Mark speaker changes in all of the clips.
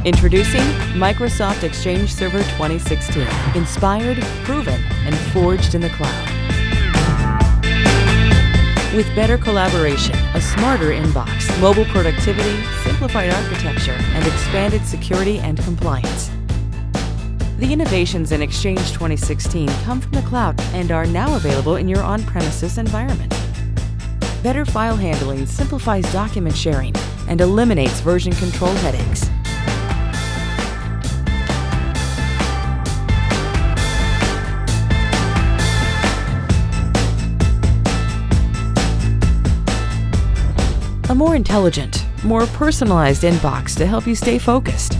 Speaker 1: Introducing Microsoft Exchange Server 2016. Inspired, proven, and forged in the cloud. With better collaboration, a smarter inbox, mobile productivity, simplified architecture, and expanded security and compliance. The innovations in Exchange 2016 come from the cloud and are now available in your on-premises environment. Better file handling simplifies document sharing and eliminates version control headaches. A more intelligent, more personalized inbox to help you stay focused.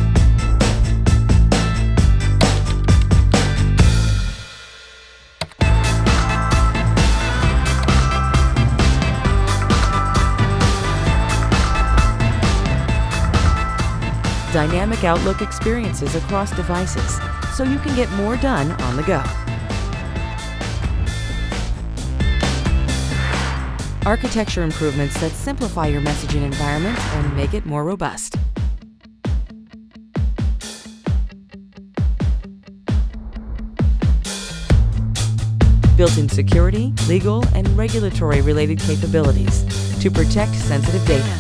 Speaker 1: Dynamic Outlook experiences across devices, so you can get more done on the go. Architecture improvements that simplify your messaging environment and make it more robust. Built-in security, legal, and regulatory-related capabilities to protect sensitive data.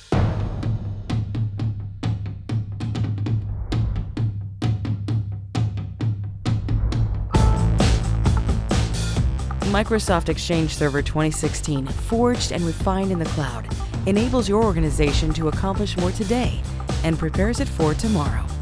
Speaker 1: Microsoft Exchange Server 2016, forged and refined in the cloud, enables your organization to accomplish more today and prepares it for tomorrow.